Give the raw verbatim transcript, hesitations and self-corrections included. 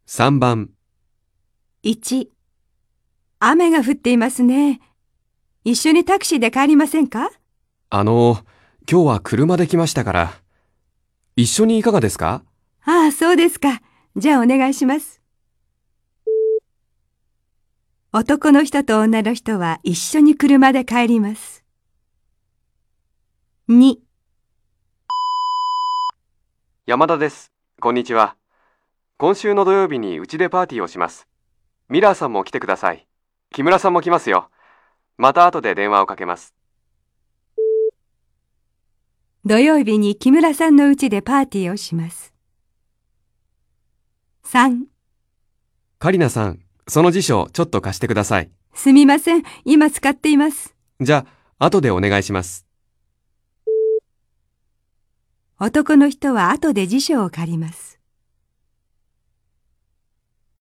さんばん。 いち、雨が降っていますね。一緒にタクシーで帰りませんか？ あの、今日は車で来ましたから。一緒にいかがですか？ ああ、そうですか。じゃあお願いします。男の人と女の人は一緒に車で帰ります。に、 山田です。こんにちは。今週の土曜日にうちでパーティーをします。ミラーさんも来てください。木村さんも来ますよ。また後で電話をかけます。 土曜日に木村さんの家でパーティーをします。さん、 カリナさん、その辞書ちょっと貸してください。 すみません。今使っています。 じゃあ、後でお願いします。 男の人は後で辞書を借ります。